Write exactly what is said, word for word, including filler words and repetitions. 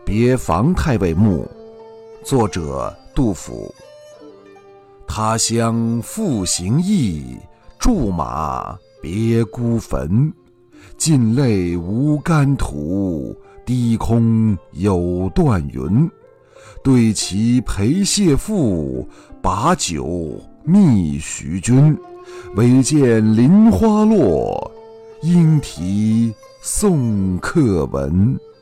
别房太尉墓，作者杜甫。他乡复行役，驻马别孤坟。尽泪无干土，低空有断云。对其陪谢父，把酒觅徐君。唯见林花落，莺啼送客闻。